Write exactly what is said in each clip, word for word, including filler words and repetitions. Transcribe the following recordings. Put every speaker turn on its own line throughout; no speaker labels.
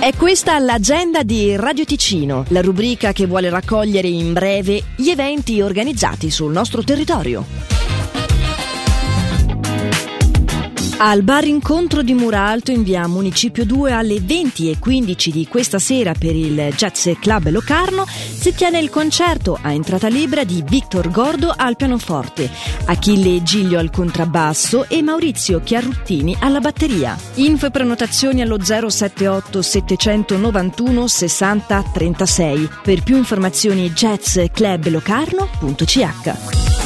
È questa l'agenda di Radio Ticino, la rubrica che vuole raccogliere in breve gli eventi organizzati sul nostro territorio. Al bar incontro di Muralto in via Municipio due alle venti e quindici di questa sera per il Jazz Club Locarno si tiene il concerto a entrata libera di Victor Gordo al pianoforte, Achille Giglio al contrabbasso e Maurizio Chiarruttini alla batteria. Info e prenotazioni allo zero sette otto settecentonovantuno sessanta trentasei. Per più informazioni jazzclublocarno punto c h.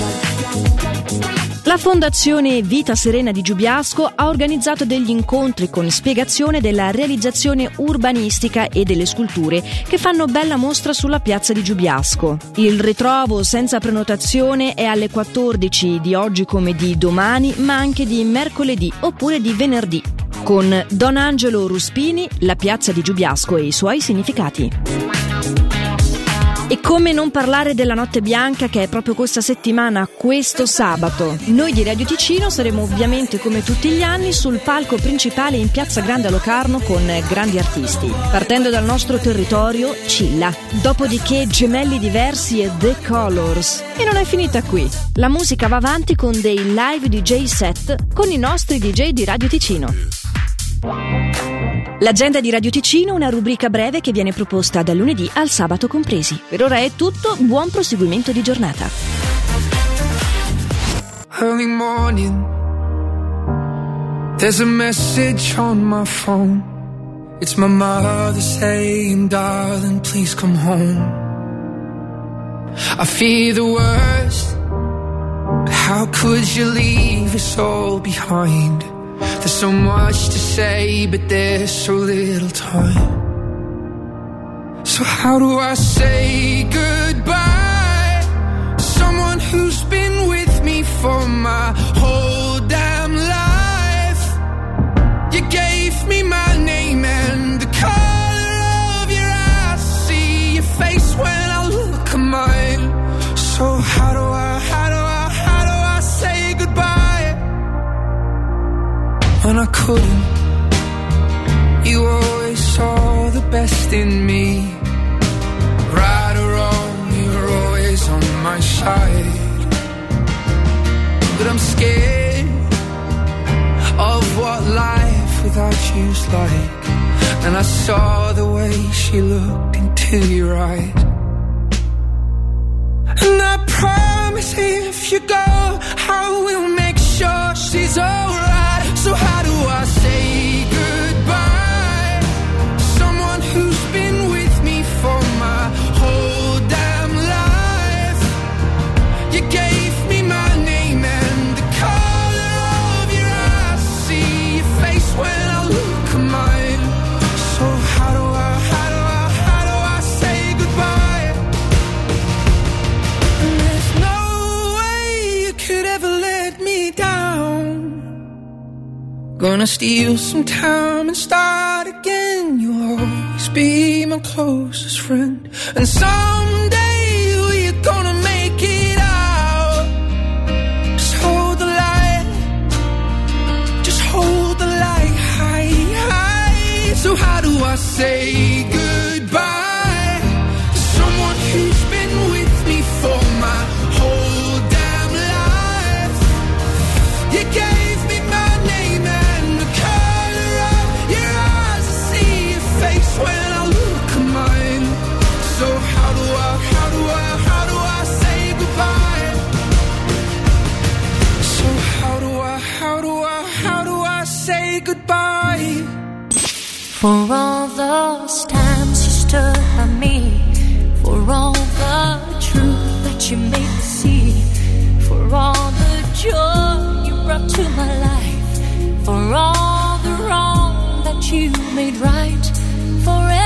La Fondazione Vita Serena di Giubiasco ha organizzato degli incontri con spiegazione della realizzazione urbanistica e delle sculture che fanno bella mostra sulla piazza di Giubiasco. Il ritrovo senza prenotazione è alle quattordici di oggi come di domani, ma anche di mercoledì oppure di venerdì, con Don Angelo Ruspini, la piazza di Giubiasco e i suoi significati. E come non parlare della Notte Bianca, che è proprio questa settimana, questo sabato. Noi di Radio Ticino saremo ovviamente come tutti gli anni sul palco principale in Piazza Grande a Locarno con grandi artisti. Partendo dal nostro territorio, Cilla. Dopodiché Gemelli Diversi e The Colors. E non è finita qui. La musica va avanti con dei live D J set con i nostri D J di Radio Ticino. L'agenda di Radio Ticino, una rubrica breve che viene proposta dal lunedì al sabato compresi. Per ora è tutto, buon proseguimento di giornata.
Early morning, there's a message on my phone. It's my mother saying, darling, please come home. I fear the worst, but how could you leave us all behind? There's so much to say, but there's so little time. So how do I say goodbye to someone who's been with me for my whole damn life? You gave me my name and the color of your eyes. See your face when I look at mine. So how do I, how do I, how do I say goodbye? When I couldn't, you always saw the best in me. Right or wrong, you were always on my side. But I'm scared of what life without you's like. And I saw the way she looked into your eyes. And I promise if you go, I will make sure she's alright. So how do I say goodbye to someone who's been with me for my whole damn life? You gave me my name and the color of your eyes. See your face when I look at mine. So how do I, how do I, how do I say goodbye? And there's no way you could ever let me down. Gonna steal some time and start again. You'll always be my closest friend. And someday we're gonna make it out. Just hold the light. Just hold the light high, high. So how do I say goodbye to someone who's been with me for my whole damn life? You gave me my name and the color of your eyes. I see your face when I look at mine. So how do I, how do I, how do I say goodbye? So how do I, how do I, how do I say goodbye?
For all those times you stood by me, for all the truth that you made me see, for all the joy you brought to my life, for all the wrong that you made right, for